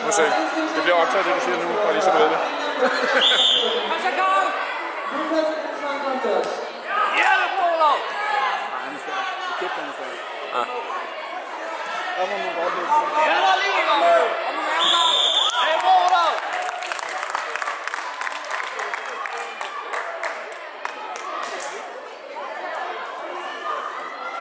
Må se. Det bliver optaget, det du siger nu, og lige så ved det. Kom så, Karl! Hjælp, Olav! Nej, han er stærk. Det kæft, han er stærk. Ja. Der må man godt løbe. Hjælp, lige! Kom nu, Karl! Hey, Olav!